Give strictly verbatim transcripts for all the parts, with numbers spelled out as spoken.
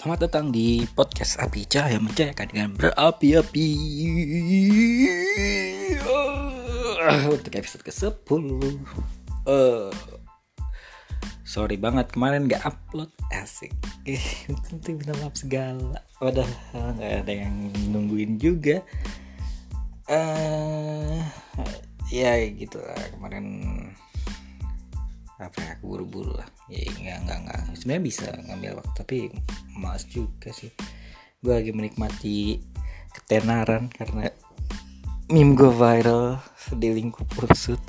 Selamat datang di podcast Api Cahaya Mencahayakan dengan berapi-api. Uh, Untuk episode kesepuluh. uh, Sorry banget kemarin gak upload. Asik. Eh, tentu minta maaf segala. Padahal gak ada yang nungguin juga. uh, Ya gitu lah kemarin. Apa ya, aku buru-buru lah ya, nggak nggak nggak sebenarnya bisa ngambil waktu tapi malas juga sih. Gue lagi menikmati ketenaran karena meme gue viral di lingkup ursut.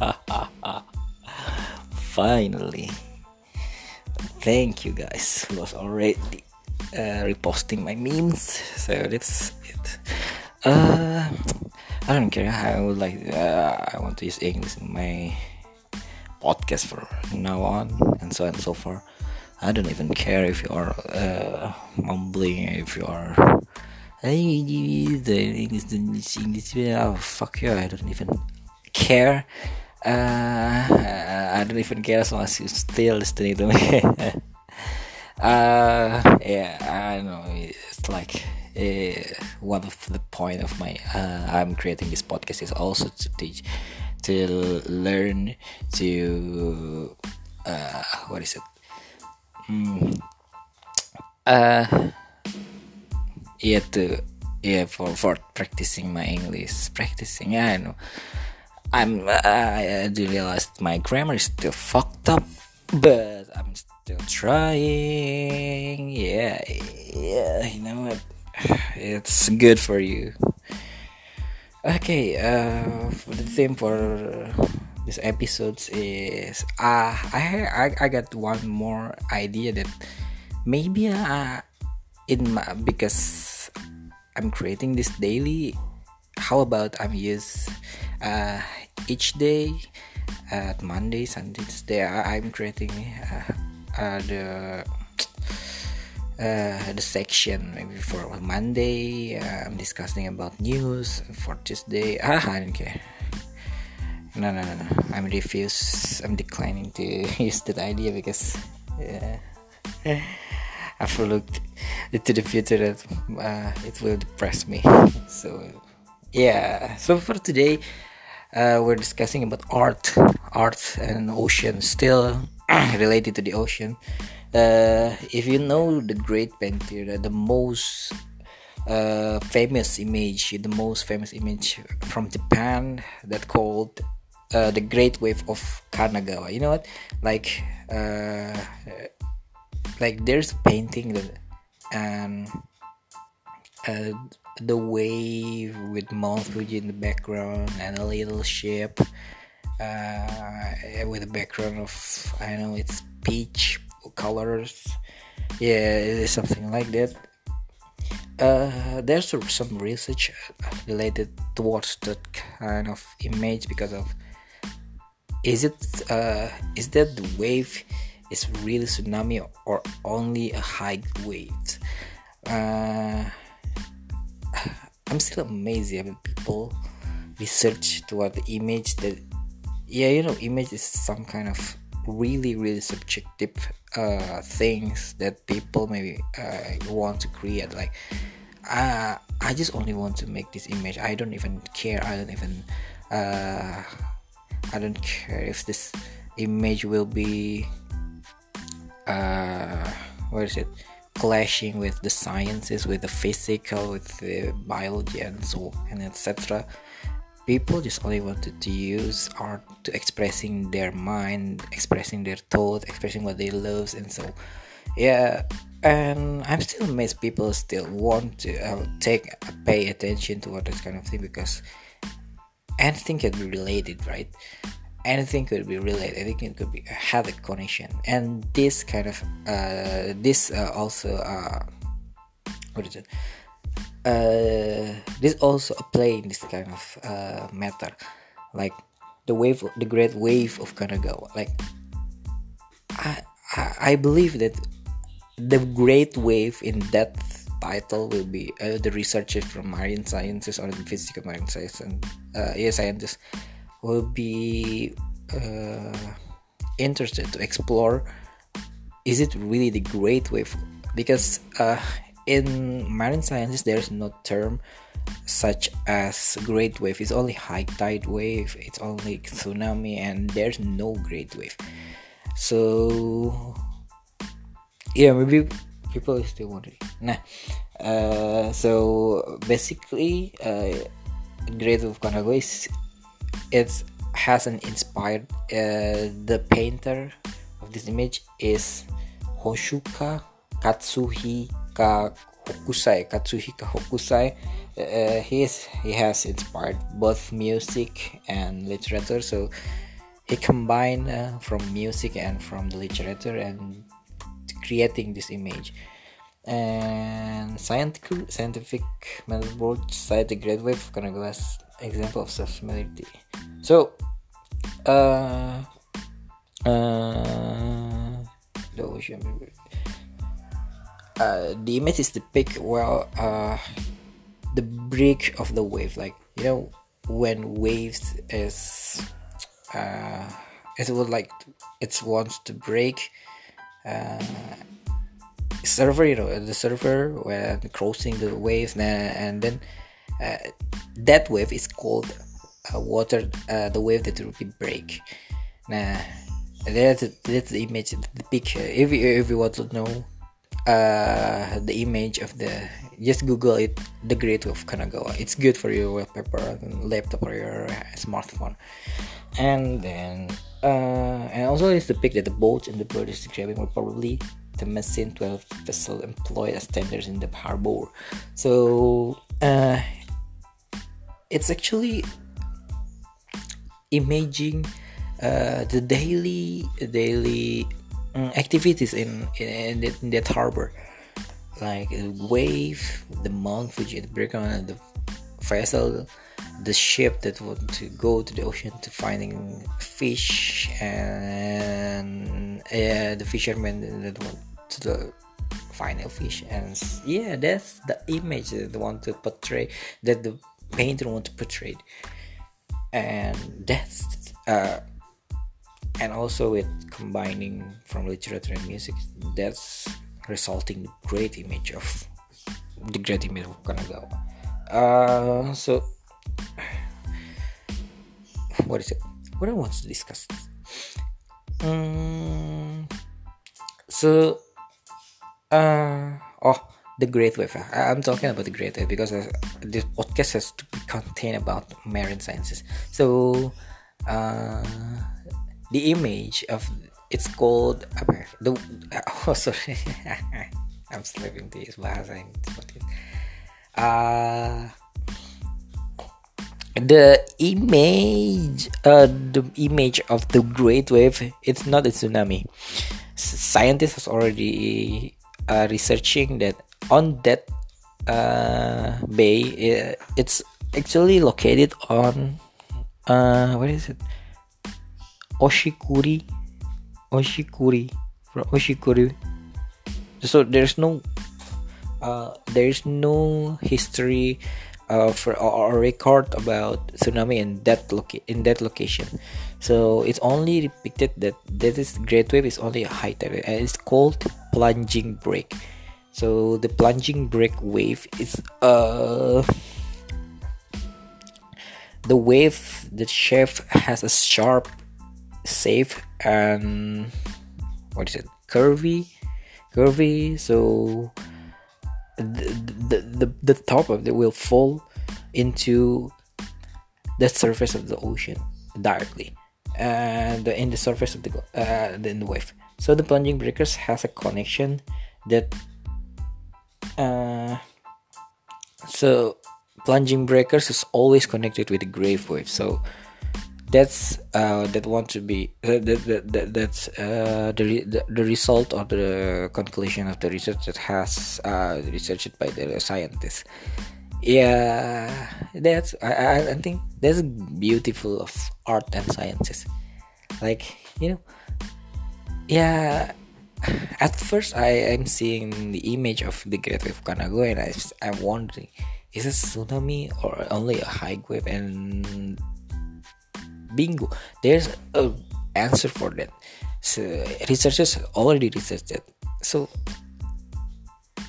Finally, thank you guys who was already uh, reposting my memes, so that's it. uh, I don't care. I would like uh, I want to use English in my podcast for now on and so on and so forth. I don't even care if you are uh, mumbling, if you are hey, the English, English, English, oh, fuck you, I don't even care. Uh, I don't even care as long as you still listening to me. uh, yeah, I know it's like uh, one of the point of my uh, I'm creating this podcast is also to teach. To learn to uh, what is it? Mm, uh, yeah, to yeah for for practicing my English, practicing. Yeah, I know. I'm. Uh, I do realize my grammar is still fucked up, but I'm still trying. Yeah, yeah. You know what? It's good for you. Okay, uh, the theme for this episode is uh, I, I I got one more idea that maybe uh, in my, because I'm creating this daily. How about I'm use uh, each day at Monday, Sunday, Tuesday. I, I'm creating uh, uh, the. Uh, the section maybe for Monday uh, I'm discussing about news. For Tuesday ah, I don't care. No no no no I'm refuse I'm declining to use that idea because uh, I've looked into the future that uh, it will depress me. So yeah, so for today uh, we're discussing about art art and ocean, still related to the ocean. Uh, if you know the great painter, uh, the most uh, famous image, the most famous image from Japan that called uh, the Great Wave of Kanagawa. You know what? Like, uh, like there's a painting that, and uh, the wave with Mount Fuji in the background and a little ship uh, with a background of I don't know, it's peach colors. Yeah, it is something like that. Uh, there's some research related towards that kind of image because of is it uh, is that the wave is really tsunami or only a high wave? Uh, I'm still amazed when people research toward the image that yeah, you know, image is some kind of really really subjective uh things that people maybe uh, want to create. Like uh, I just only want to make this image. I don't even care. I don't even uh, I don't care if this image will be uh, what is it clashing with the sciences, with the physical, with the biology and so and etc. People just only wanted to use art to expressing their mind, expressing their thought, expressing what they love, and so yeah. And I'm still amazed people still want to uh, take uh, pay attention to what this kind of thing, because anything can be related, right? Anything could be related. Anything could be have a connection, and this kind of uh, this uh, also uh, what is it? Uh, this also apply in this kind of uh, matter, like the wave, the great wave of Kanagawa. Like I, I, I believe that the great wave in that title will be uh, the researchers from marine sciences or the physical marine science and uh, yeah, scientists will be uh, interested to explore. Is it really the great wave because uh, in marine sciences there's no term such as great wave. It's only high tide wave, it's only tsunami, and there's no great wave. So yeah, maybe people are still wondering. Nah, uh, so basically, uh, Great Wave of Kanagawa is it has an inspired. Uh, the painter of this image is Hoshuka Katsuhika Hokusai. Katsuhika Hokusai. Uh, he is he has inspired both music and literature. So he combined uh, from music and from the literature and creating this image. And scientific scientific metaphors cite the Great Wave of Kanagawa as example of self-similarity. So, uh, uh, the ocean. Uh, the image is depicted well. Uh, the break of the wave, like you know, when waves is, uh, it would like it wants to break. Uh, surfer, you know, the surfer when crossing the waves, and then uh, that wave is called uh, water. Uh, the wave that will be break. Nah, that's that's the image, the picture. If you if you want to know uh, the image of the, just Google it, the Great Wave of Kanagawa. It's good for your wallpaper and laptop or your smartphone. And then uh, and also it's depicted that the boats and the bird is describing were probably the Messine twelve vessel employed as tenders in the harbor. So uh, it's actually imaging uh, the daily daily um, activities in in, in, in that harbor, like the wave, the Mount Fuji, the breakdown, the vessel, the ship that want to go to the ocean to finding fish, and uh, the fishermen that want to the final fish. And yeah, that's the image that they want to portray, that the painter want to portray. And that's uh, and also with combining from literature and music, that's resulting the great image of the great image of Kanagawa. Uh, so what is it? What I want to discuss? Um, so, uh, oh, the Great Wave. I, I'm talking about the Great Wave because uh, this podcast has to contain about marine sciences. So, uh, the image of it's called apa, the oh sorry, I'm slipping to use bahasa ini. Uh, the image uh, the image of the Great Wave, it's not a tsunami. Scientists has already uh, researching that on that uh, bay, uh, it's actually located on uh, what is it, Oshikuri Oshikuri from Oshikuri. So there's no uh, there's no history of or, or record about tsunami in that loca- in that location. So it's only depicted that that is Great Wave is only a high tide, and it's called plunging break. So the plunging break wave is uh the wave, the shape has a sharp, safe, and what is it, curvy curvy so the, the the the top of it will fall into the surface of the ocean directly, and in the surface of the uh in the wave. So the plunging breakers has a connection that uh so plunging breakers is always connected with the Great Wave. So that's uh that want to be uh, that, that, that that's uh the, the the result of the conclusion of the research that has uh researched by the scientists. Yeah, that's I, I I think that's beautiful of art and sciences. Like, you know, yeah, at first I am seeing the image of the Great Wave of Kanagawa, and I, I'm wondering, is it tsunami or only a high wave? And bingo, there's a answer for that. So researchers already researched it. So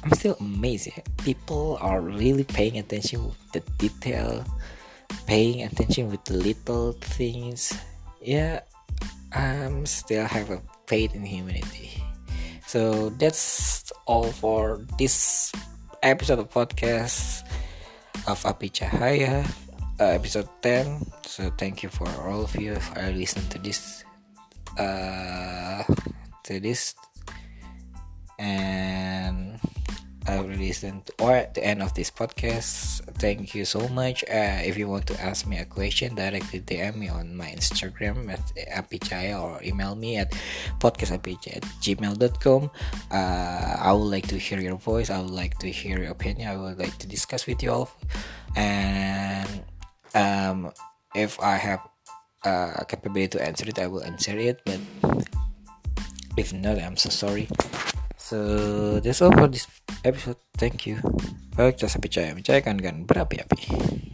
I'm still amazed. Yeah. People are really paying attention with the detail, paying attention with the little things. Yeah, I'm still have a faith in humanity. So that's all for this episode of podcast of Api Cahaya, uh, episode ten. So thank you for all of you if I listen to this, uh, to this, and I will listen to, or at the end of this podcast. Thank you so much. Uh, if you want to ask me a question, directly D M me on my Instagram at apichaya or email me at podcastapichaya at gmail dot com. Uh, I would like to hear your voice. I would like to hear your opinion. I would like to discuss with you all. And um, if I have uh, capability to answer it, I will answer it. But if not, I'm so sorry. So that's all for this episode. Thank you. Podcast Api Cahaya, mencairkan kan berapi-api.